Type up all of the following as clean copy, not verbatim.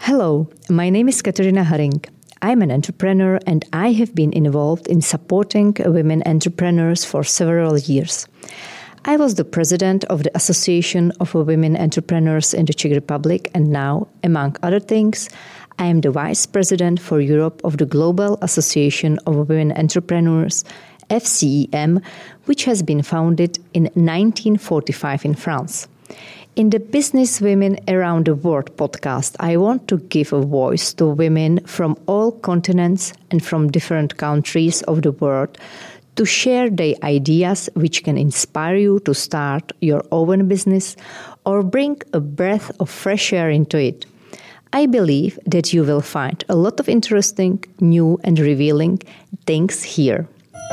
Hello, my name is Katarina Haring. I'm an entrepreneur and I have been involved in supporting women entrepreneurs for several years. I was the president of the Association of Women Entrepreneurs in the Czech Republic, and now, among other things, I am the vice president for Europe of the Global Association of Women Entrepreneurs, FCEM, which has been founded in 1945 in France. In the Business Women Around the World podcast, I want to give a voice to women from all continents and from different countries of the world to share their ideas which can inspire you to start your own business or bring a breath of fresh air into it. I believe that you will find a lot of interesting, new and revealing things here.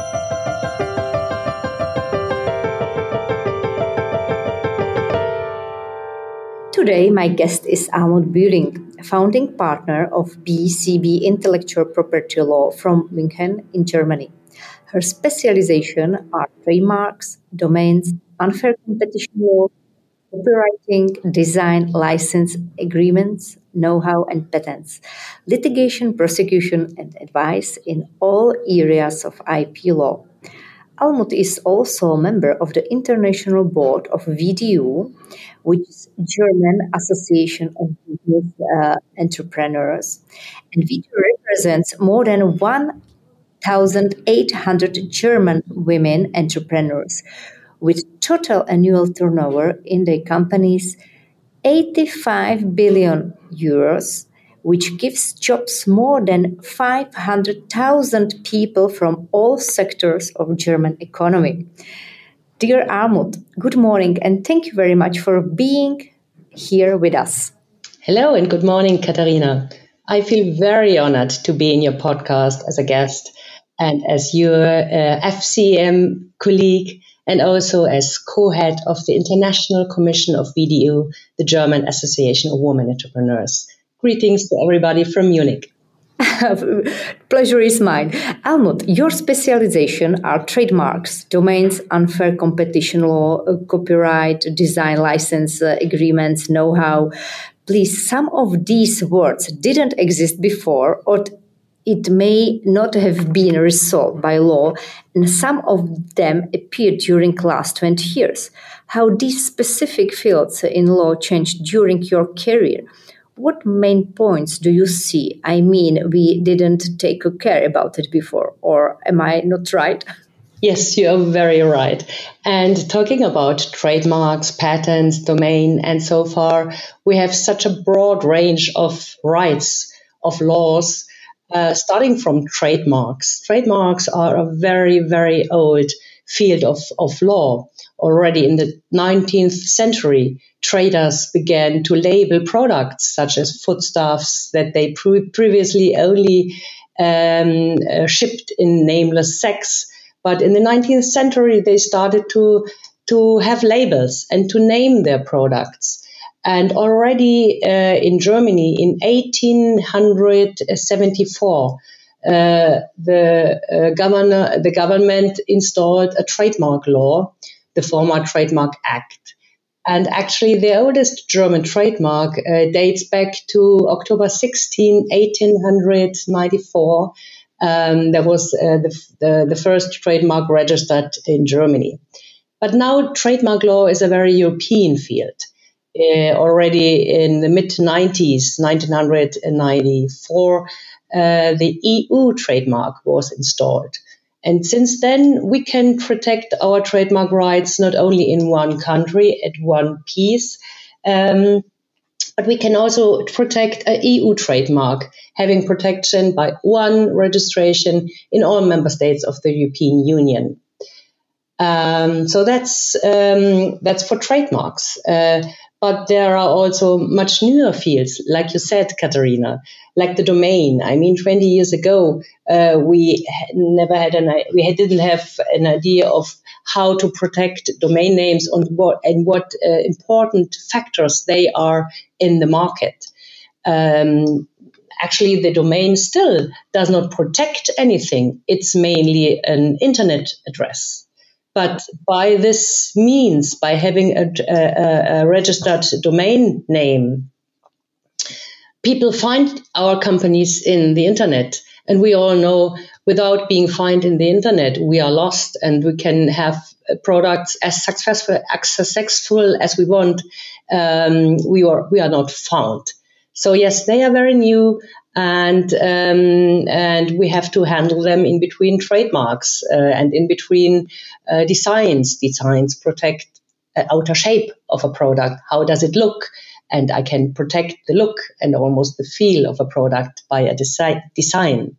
Today, my guest is Almut Bühring, founding partner of BCB Intellectual Property Law from München in Germany. Her specialization are trademarks, domains, unfair competition law, copywriting, design, license agreements, know-how and patents, litigation, prosecution and advice in all areas of IP law. Almut is also a member of the International Board of VDU, which is German Association of Business Entrepreneurs. And VDU represents more than 1,800 German women entrepreneurs with total annual turnover in their companies 85 billion euros, which gives jobs more than 500,000 people from all sectors of German economy. Dear Almut, good morning and thank you very much for being here with us. Hello and good morning, Katarina. I feel very honored to be in your podcast as a guest and as your FCM colleague and also as co-head of the International Commission of VDU, the German Association of Women Entrepreneurs. Greetings to everybody from Munich. Pleasure is mine. Almut, your specialization are trademarks, domains, unfair competition law, copyright, design, license agreements, know-how. Please, some of these words didn't exist before, or it may not have been resolved by law, and some of them appeared during the last 20 years. How these specific fields in law changed during your career? What main points do you see? I mean, we didn't take care about it before, or am I not right? Yes, you're very right. And talking about trademarks, patents, domain, and so far, we have such a broad range of rights, of laws, starting from trademarks. Trademarks are a very, very old field of law. Already in the 19th century, traders began to label products such as foodstuffs that they previously only shipped in nameless sacks. But in the 19th century, they started to have labels and to name their products. And already in Germany in 1874, the government installed a trademark law, the former Trademark Act. And actually, the oldest German trademark dates back to October 16, 1894. That was the first trademark registered in Germany. But now trademark law is a very European field. Already in the mid-90s, 1994, the EU trademark was installed. And since then, we can protect our trademark rights not only in one country at one piece, but we can also protect an EU trademark, having protection by one registration in all member states of the European Union. So that's for trademarks. But there are also much newer fields, like you said, Katarina, like the domain. I mean, 20 years ago, we didn't have an idea of how to protect domain names and what important factors they are in the market. Actually, the domain still does not protect anything. It's mainly an internet address. But by this means, by having a registered domain name, people find our companies in the internet. And we all know without being found in the internet, we are lost, and we can have products as successful as we want. We are not found. So yes, they are very new, and we have to handle them in between trademarks and in between designs. Designs protect outer shape of a product. How does it look? And I can protect the look and almost the feel of a product by a design.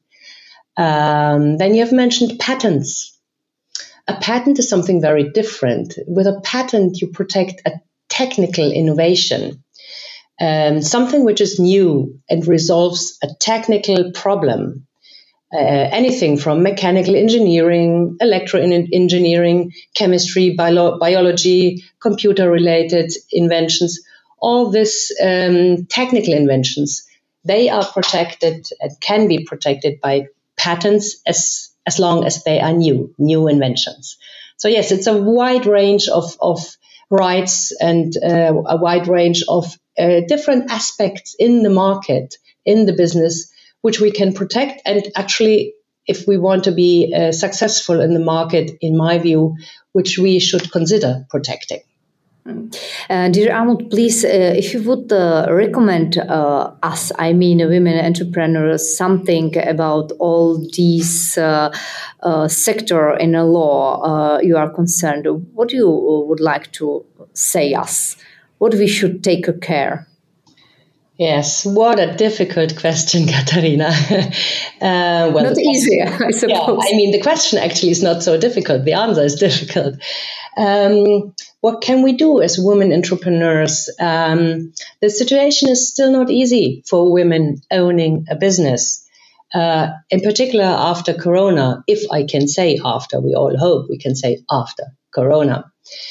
Then you have mentioned patents. A patent is something very different. With a patent, you protect a technical innovation, something which is new and resolves a technical problem. Anything from mechanical engineering, electro-engineering, chemistry, biology, computer-related inventions, all these technical inventions, they are protected and can be protected by patents as long as they are new inventions. So yes, it's a wide range of rights and a wide range of different aspects in the market, in the business, which we can protect. And actually, if we want to be successful in the market, in my view, which we should consider protecting. Dear Almut, please, if you would recommend us, I mean women entrepreneurs, something about all these sector in the law you are concerned, what you would like to say us? What we should take care? Yes, what a difficult question, Katharina. Not easy, I suppose. Yeah, I mean, the question actually is not so difficult. The answer is difficult. What can we do as women entrepreneurs? The situation is still not easy for women owning a business, in particular after Corona, if I can say after, we all hope we can say after Corona.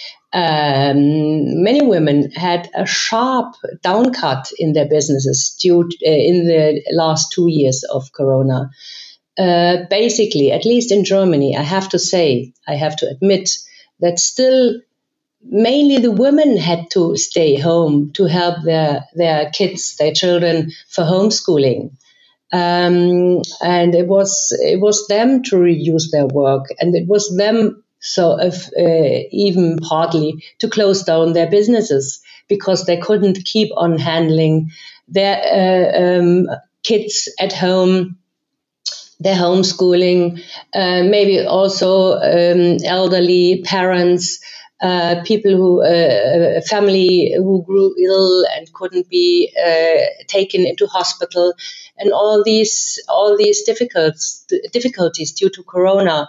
Many women had a sharp downcut in their businesses in the last 2 years of Corona. Basically, at least in Germany, I have to admit that still mainly the women had to stay home to help their kids, their children for homeschooling. And it was them to reduce their work, and it was them even partly to close down their businesses because they couldn't keep on handling their kids at home, their homeschooling, maybe also elderly parents, people family who grew ill and couldn't be taken into hospital, and all these difficulties due to Corona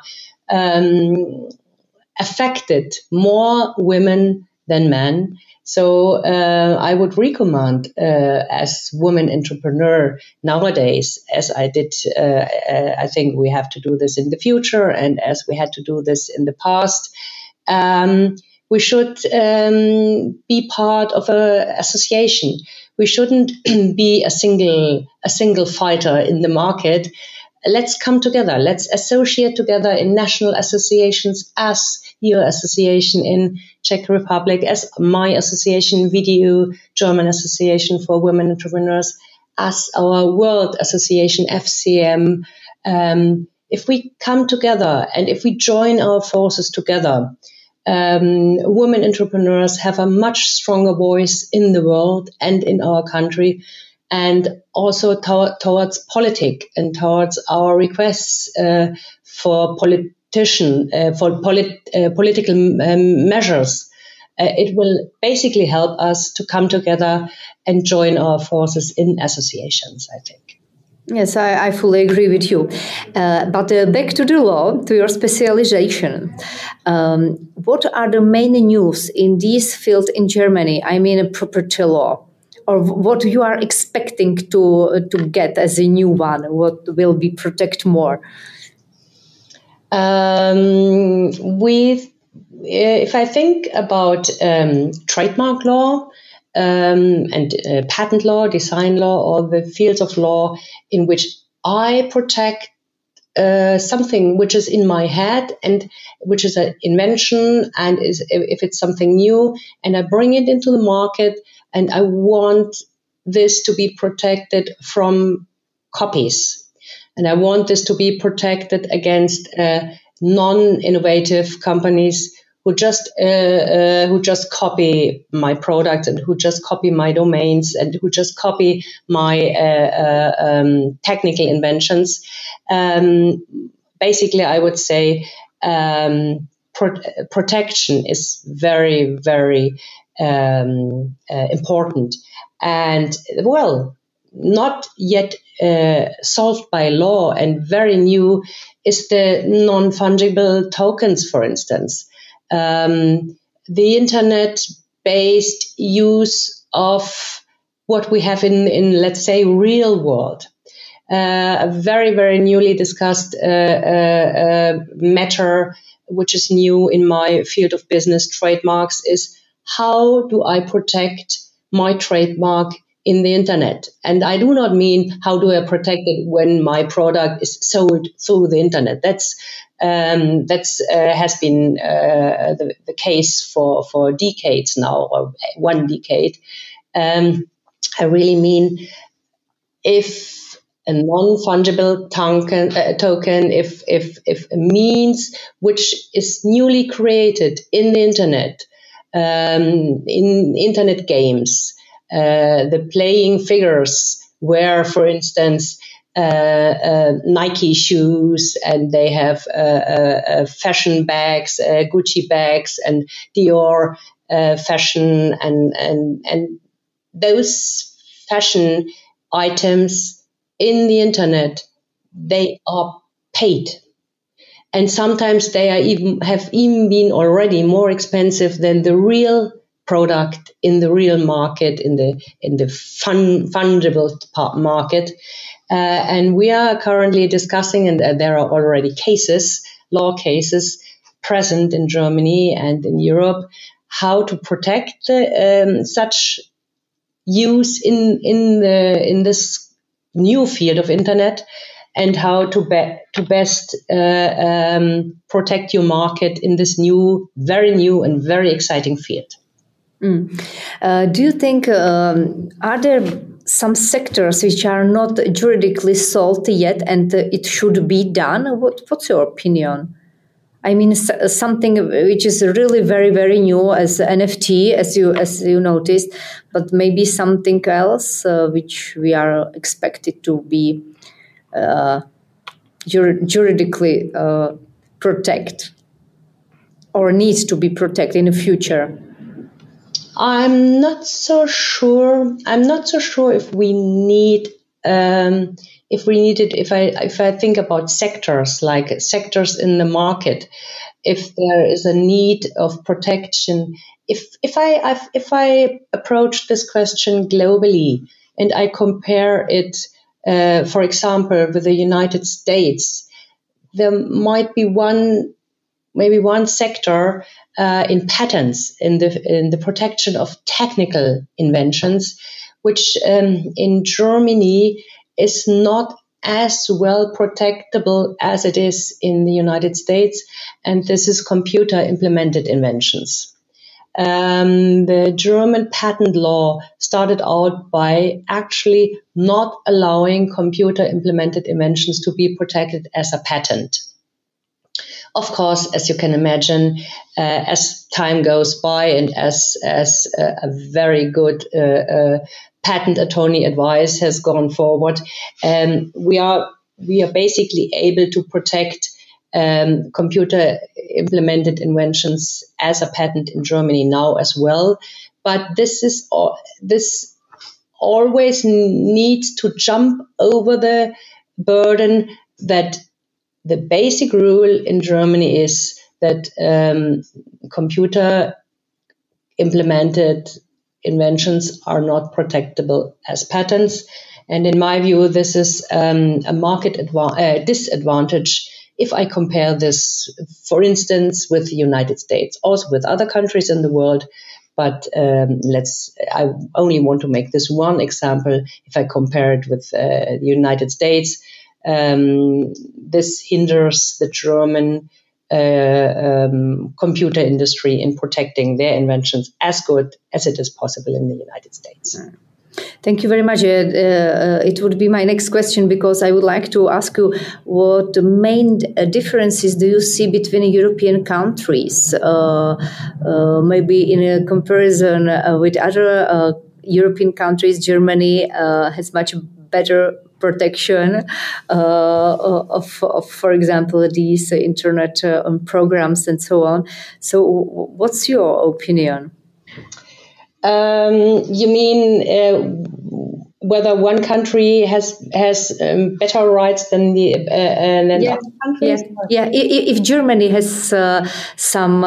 affected more women than men. So I would recommend as women entrepreneur nowadays, as I did, I think we have to do this in the future, and as we had to do this in the past, we should be part of an association. We shouldn't be a single fighter in the market. Let's come together. Let's associate together in national associations, as your association in Czech Republic, as my association, VDU, German Association for Women Entrepreneurs, as our world association, FCM. If we come together and if we join our forces together, women entrepreneurs have a much stronger voice in the world and in our country, and also towards politics and towards our requests for political measures. It will basically help us to come together and join our forces in associations, I think. Yes, I fully agree with you. But back to the law, to your specialization. What are the main news in this field in Germany? I mean, property law. Or what you are expecting to get as a new one? What will be protect more? If I think about trademark law and patent law, design law, or the fields of law in which I protect something which is in my head and which is an invention, and if it's something new and I bring it into the market, and I want this to be protected from copies. And I want this to be protected against non-innovative companies who just copy my products and who just copy my domains and who just copy my technical inventions. Basically, I would say protection is very, very important, and well, not yet solved by law and very new is the non-fungible tokens, for instance. The internet-based use of what we have in let's say, real world. A very, very newly discussed matter, which is new in my field of business, trademarks, is how do I protect my trademark in the internet? And I do not mean how do I protect it when my product is sold through the internet. That's has been the case for decades now, or 1 decade. I really mean if a non-fungible token, if a means which is newly created in the internet, in internet games, the playing figures where, for instance, Nike shoes, and they have fashion bags, Gucci bags, and Dior fashion, and those fashion items in the internet, they are paid. And sometimes they have even been already more expensive than the real product in the real market, in the fungible market. And we are currently discussing, and there are already law cases present in Germany and in Europe, how to protect such use in this new field of internet, and how to best protect your market in this very new and very exciting field. Do you think are there some sectors which are not juridically solved yet, and it should be done? What's your opinion? I mean, something which is really very, very new as NFT, as you noticed, but maybe something else which we are expected to be juridically protect, or needs to be protected in the future. I'm not so sure if we need it. If I think about sectors, like sectors in the market, if there is a need of protection, if I approach this question globally and I compare it, for example, with the United States, there might be maybe one sector in patents, in the protection of technical inventions, which in Germany is not as well protectable as it is in the United States, and this is computer implemented inventions. The German patent law started out by actually not allowing computer implemented inventions to be protected as a patent. Of course, as you can imagine, as time goes by and as a very good patent attorney advice has gone forward, we are basically able to protect computer implemented inventions as a patent in Germany now as well. But this always needs to jump over the burden that the basic rule in Germany is that computer implemented inventions are not protectable as patents. And in my view, this is a market disadvantage if I compare this, for instance, with the United States, also with other countries in the world. But I only want to make this one example. If I compare it with the United States, this hinders the German computer industry in protecting their inventions as good as it is possible in the United States. Thank you very much. It would be my next question, because I would like to ask you what the main differences do you see between European countries, maybe in a comparison with other European countries. Germany has much better protection of, for example, these internet programs and so on. So what's your opinion? You mean whether one country has better rights than other countries? If Germany has some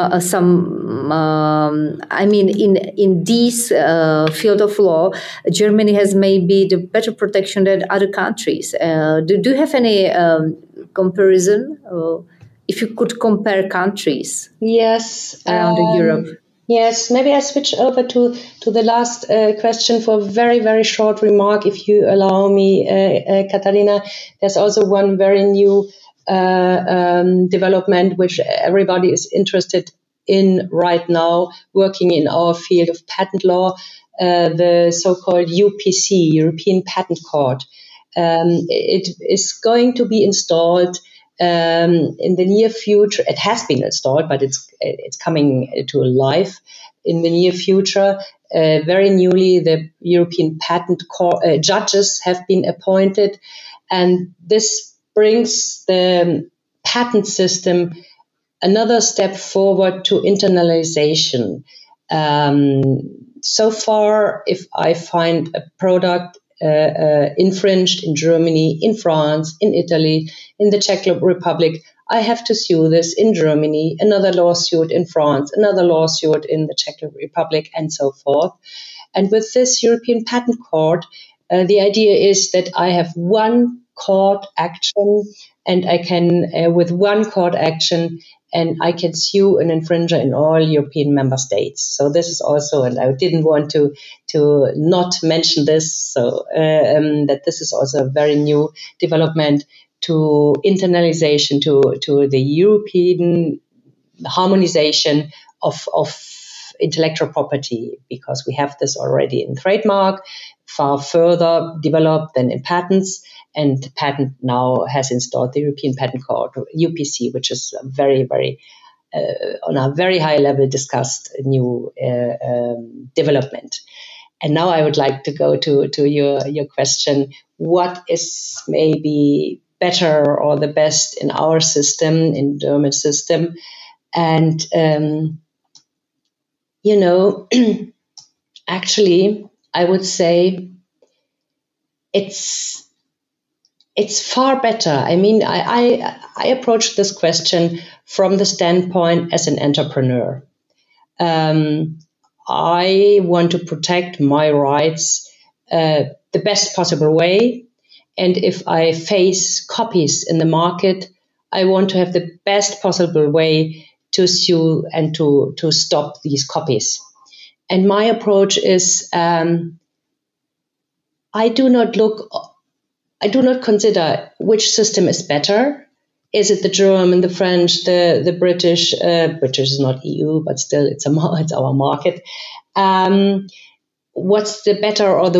I mean, in this field of law, Germany has maybe the better protection than other countries. Do you have any comparison? If you could compare countries, yes, around Europe. Yes, maybe I switch over to the last question for a very, very short remark, if you allow me, Katharina. There's also one very new development which everybody is interested in right now, working in our field of patent law, the so-called UPC, European Patent Court. It is going to be installed in the near future. It has been installed, but it's coming to life in the near future. Very newly, the European Patent Court judges have been appointed, and this brings the patent system another step forward to internalization. So far, if I find a product infringed in Germany, in France, in Italy, in the Czech Republic, I have to sue this in Germany, another lawsuit in France, another lawsuit in the Czech Republic, and so forth. And with this European Patent Court, the idea is that I have one court action, and I can, with one court action, and I can sue an infringer in all European member states. So this is also, and I didn't want to not mention this, so that this is also a very new development to internalization, to the European harmonization of intellectual property, because we have this already in trademark, far further developed than in patents. And patent now has installed the European Patent Court, UPC, which is a very, very, on a very high level discussed new development. And now I would like to go to your question. What is maybe better or the best in our system, in German system? And, actually, I would say it's far better. I mean, I approach this question from the standpoint as an entrepreneur. I want to protect my rights the best possible way. And if I face copies in the market, I want to have the best possible way to sue and to stop these copies. And my approach is I do not consider which system is better. Is it the German, the French, the British? British is not EU, but still it's our market. What's the better or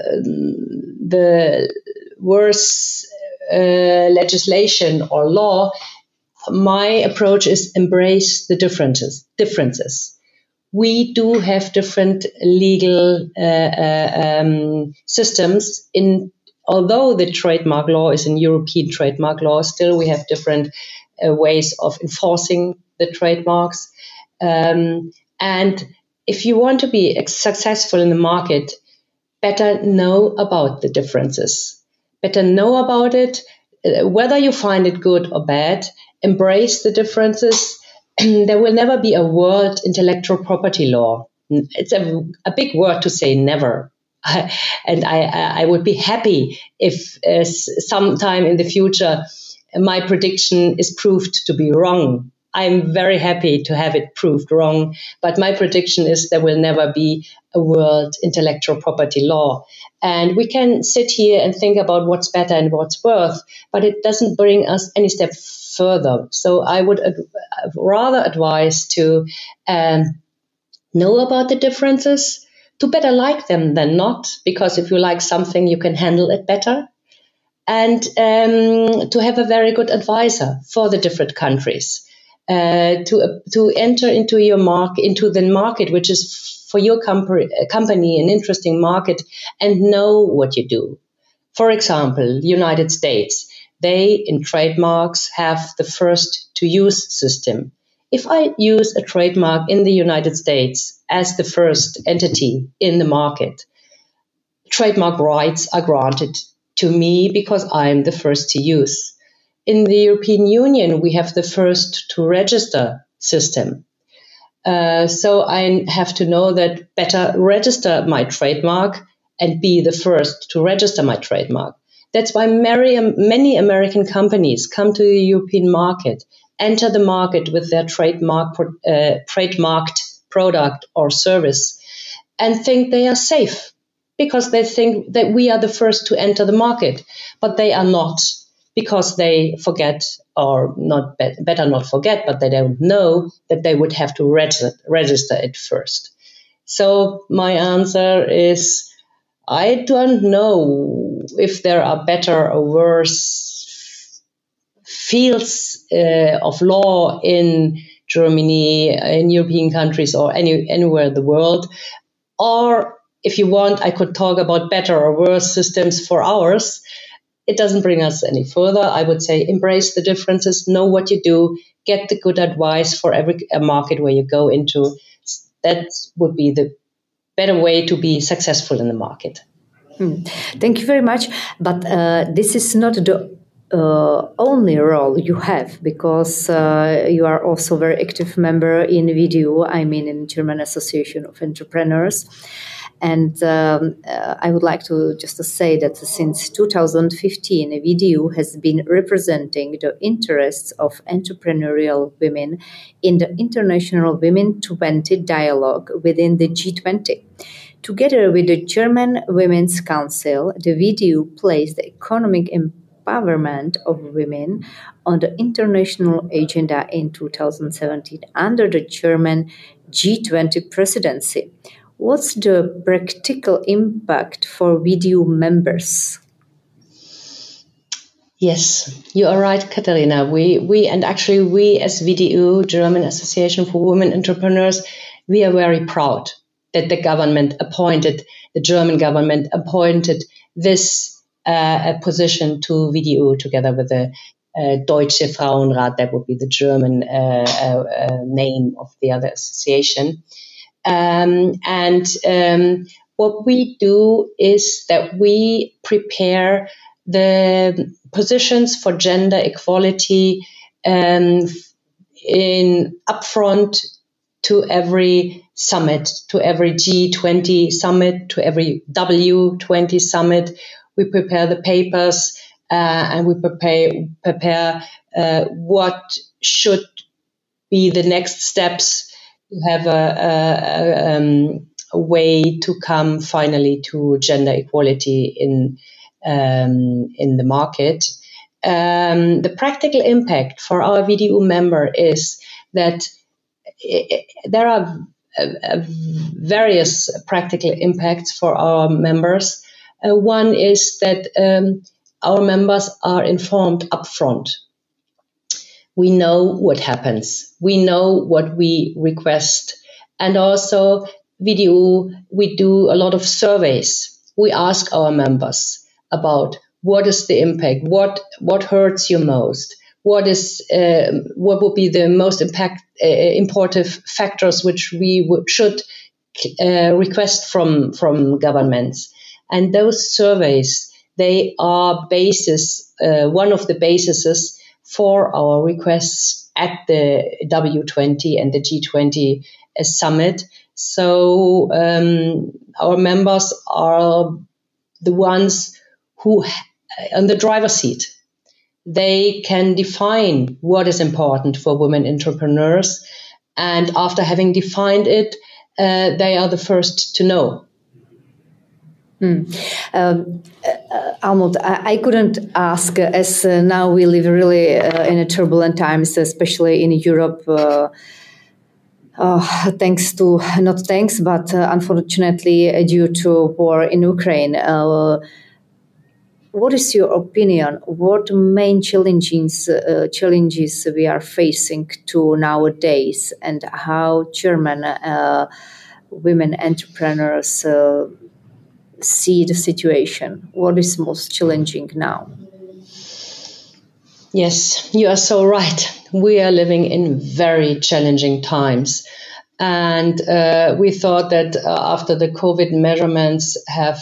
the worse legislation or law? My approach is embrace the differences. We do have different legal systems in. Although the trademark law is in European trademark law, still we have different ways of enforcing the trademarks. And if you want to be successful in the market, better know about the differences. Better know about it, whether you find it good or bad. Embrace the differences. There will never be a world intellectual property law. It's a big word to say never. And I would be happy if sometime in the future my prediction is proved to be wrong. I'm very happy to have it proved wrong, but my prediction is there will never be a world intellectual property law. And we can sit here and think about what's better and what's worse, but it doesn't bring us any step further. So I would rather advise to know about the differences, to better like them than not, because if you like something, you can handle it better. And to have a very good advisor for the different countries, to enter into the market, which is for your company an interesting market, and know what you do. For example, the United States, they in trademarks have the first to use system. If I use a trademark in the United States as the first entity in the market, trademark rights are granted to me because I'm the first to use. In the European Union, we have the first to register system. So I have to know that better register my trademark and be the first to register my trademark. That's why many American companies come to the European market, enter the market with their trademarked product or service, and think they are safe because they think that we are the first to enter the market, but they are not, because they forget, or not better not forget, but they don't know that they would have to register it first. So my answer is, I don't know if there are better or worse fields of law in Germany, in European countries, or anywhere in the world. Or if you want, I could talk about better or worse systems for ours. It doesn't bring us any further. I would say embrace the differences, know what you do, get the good advice for every market where you go into. That would be the better way to be successful in the market. Thank you very much. But this is not the only role you have, because you are also a very active member in VDU, in German Association of Entrepreneurs. And I would like to just say that since 2015, VDU has been representing the interests of entrepreneurial women in the International Women 20 dialogue within the G20. Together with the German Women's Council, the VDU placed the economic empowerment of women on the international agenda in 2017 under the German G20 presidency. What's the practical impact for VDU members? Yes, you are right, Katharina. We as VDU, German Association for Women Entrepreneurs, we are very proud that the German government appointed this position to VDU together with the Deutsche Frauenrat. That would be the German name of the other association. What we do is that we prepare the positions for gender equality in upfront to every summit, to every G20 summit, to every W20 summit. We prepare the papers and we prepare what should be the next steps to have a way to come finally to gender equality in the market. The practical impact for our VDU member is that there are various practical impacts for our members. One is that our members are informed upfront. We know what happens. We know what we request. And also, VDU, we do a lot of surveys. We ask our members about what is the impact, what hurts you most, what would be the most important factors which we should request from governments. And those surveys, they are one of the bases for our requests at the W20 and the G20 summit. So our members are the ones who on the driver's seat. They can define what is important for women entrepreneurs, and after having defined it, they are the first to know. Almuth, I couldn't ask, as now we live really in a turbulent times, especially in Europe. Unfortunately, due to war in Ukraine. What is your opinion? What main challenges we are facing to nowadays, and how German women entrepreneurs see the situation? What is most challenging now? Yes, you are so right. We are living in very challenging times. And we thought that after the COVID measurements have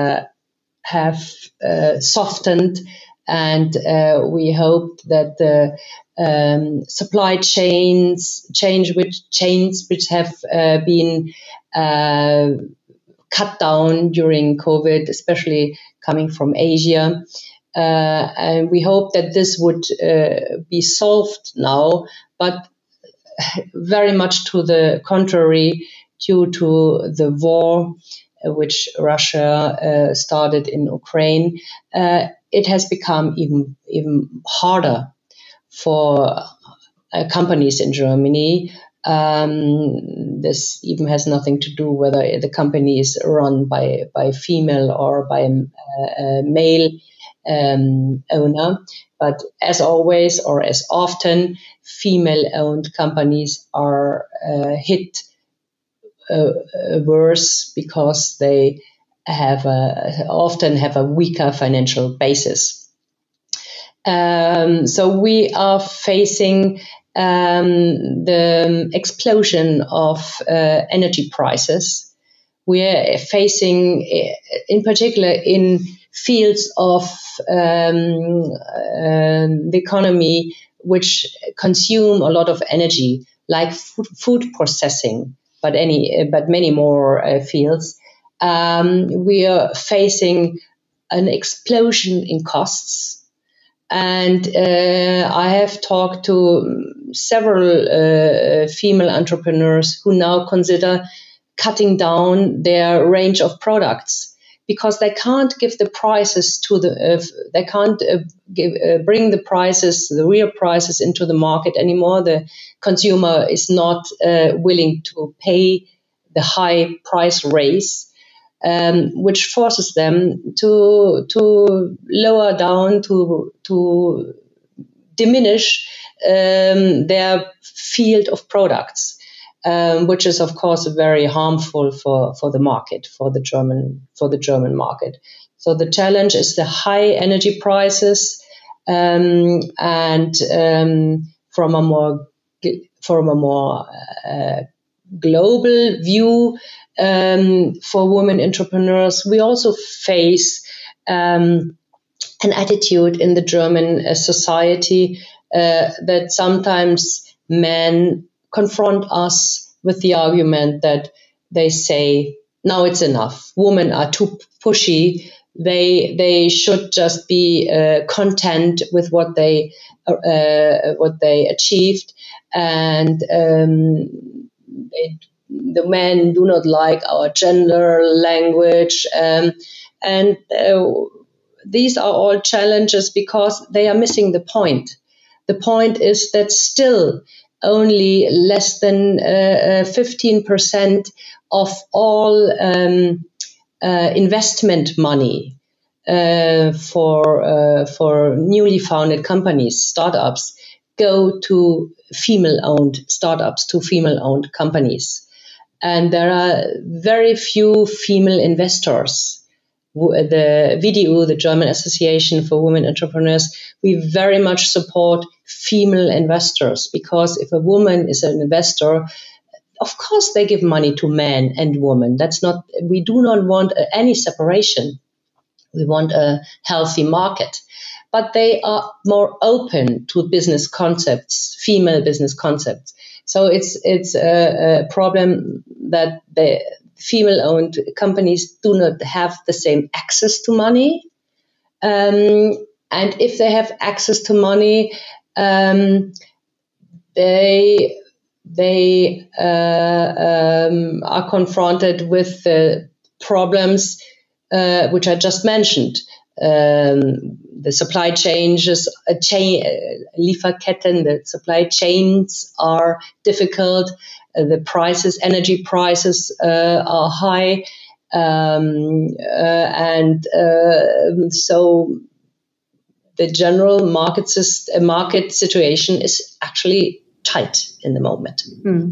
softened, and we hoped that the supply chains which have been cut down during COVID, especially coming from Asia. And we hope that this would be solved now, but very much to the contrary, due to the war which Russia started in Ukraine, it has become even harder for companies in Germany. This even has nothing to do whether the company is run by female or by a male owner. But as always, or as often, female-owned companies are hit worse because they often have a weaker financial basis. So we are facing the explosion of energy prices. We are facing, in particular, in fields of the economy which consume a lot of energy, like food processing, but many more fields. We are facing an explosion in costs. And I have talked to several female entrepreneurs who now consider cutting down their range of products because they can't give the prices they can't bring the prices, the real prices, into the market anymore. The consumer is not willing to pay the high price raise. Which forces them to lower down, to diminish their field of products, which is of course very harmful for the market, for the German market. So the challenge is the high energy prices, and from a more global view. For women entrepreneurs, we also face an attitude in the German society that sometimes men confront us with the argument that they say, "Now it's enough. Women are too pushy. They should just be content with what they achieved, and the men do not like our gender language." And these are all challenges because they are missing the point. The point is that still only less than 15% of all investment money for newly founded companies, startups, go to female-owned startups, to female-owned companies. And there are very few female investors. The VDU, the German Association for Women Entrepreneurs, we very much support female investors, because if a woman is an investor, of course they give money to men and women. We do not want any separation. We want a healthy market. But they are more open to business concepts, female business concepts. So it's a problem that the female-owned companies do not have the same access to money. And if they have access to money, they are confronted with the problems which I just mentioned. the supply changes, Lieferketten, the supply chains are difficult. The prices, energy prices are high. So the general market situation is actually tight in the moment.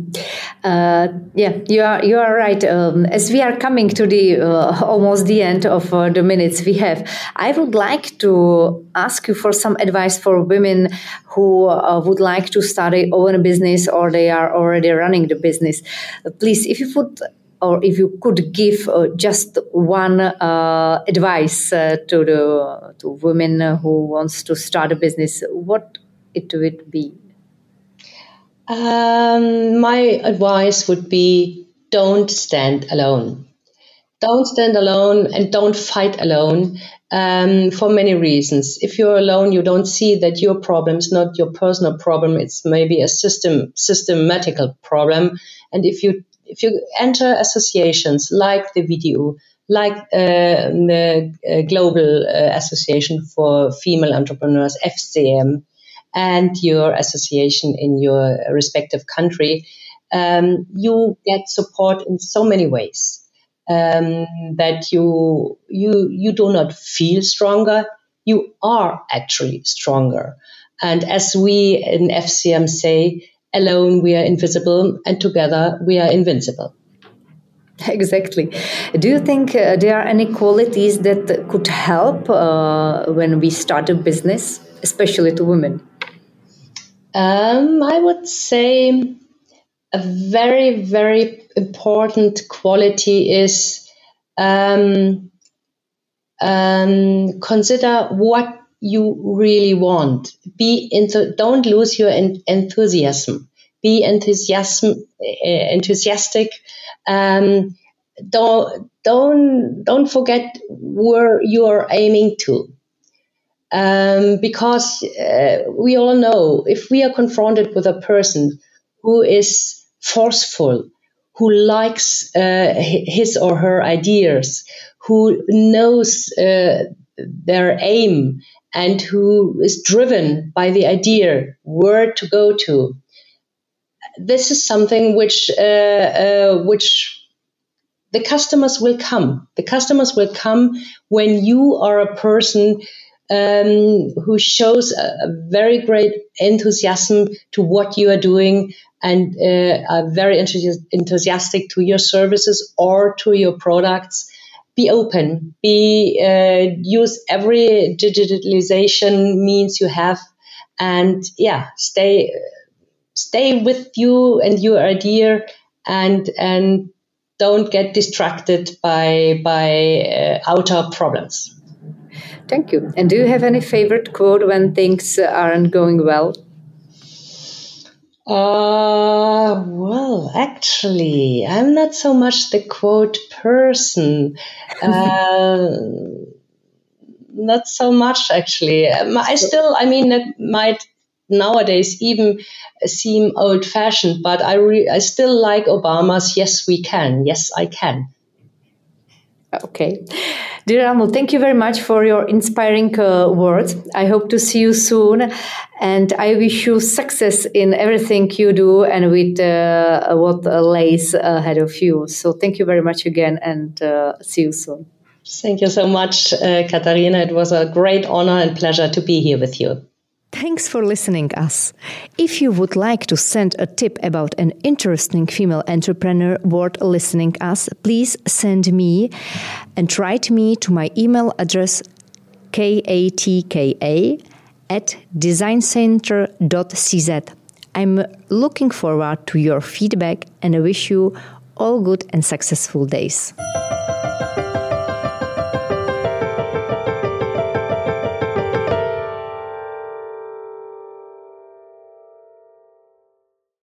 You are right. As we are coming to the almost the end of the minutes we have, I would like to ask you for some advice for women who would like to start their own business or they are already running the business. Please, if you could give just one advice to women who wants to start a business, what it would be? My advice would be, don't stand alone. Don't stand alone and don't fight alone for many reasons. If you're alone, you don't see that your problem is not your personal problem. It's maybe a systematical problem. And if you enter associations like the VDU, like the Global Association for Female Entrepreneurs, FCM, and your association in your respective country, you get support in so many ways that you do not feel stronger. You are actually stronger. And as we in FCM say, alone we are invisible, and together we are invincible. Exactly. Do you think there are any qualities that could help when we start a business, especially to women? I would say a very, very important quality is consider what you really want. Don't lose your enthusiasm. Be enthusiastic. Don't forget where you are aiming to. Because we all know if we are confronted with a person who is forceful, who likes his or her ideas, who knows their aim, and who is driven by the idea where to go to, this is something which the customers will come. The customers will come when you are a person who shows a very great enthusiasm to what you are doing and are very enthusiastic to your services or to your products. Be open. Use every digitalization means you have, and stay with you and your idea, and don't get distracted by outer problems. Thank you. And do you have any favorite quote when things aren't going well? Well, actually, I'm not so much the quote person. Not so much, actually. That might nowadays even seem old-fashioned, but I still like Obama's "Yes, we can." Yes, I can. Okay. Dear Ramul, thank you very much for your inspiring words. I hope to see you soon, and I wish you success in everything you do and with what lays ahead of you. So thank you very much again, and see you soon. Thank you so much, Katharina. It was a great honor and pleasure to be here with you. Thanks for listening us. If you would like to send a tip about an interesting female entrepreneur worth listening us, please send me and write me to my email address katka@designcenter.cz. I'm looking forward to your feedback and I wish you all good and successful days.